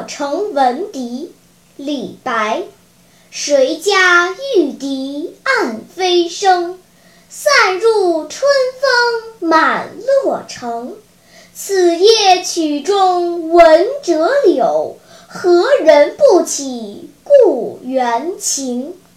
洛城闻笛。李白。谁家玉笛暗飞声，散入春风满洛城。此夜曲中闻折柳，何人不起故园情。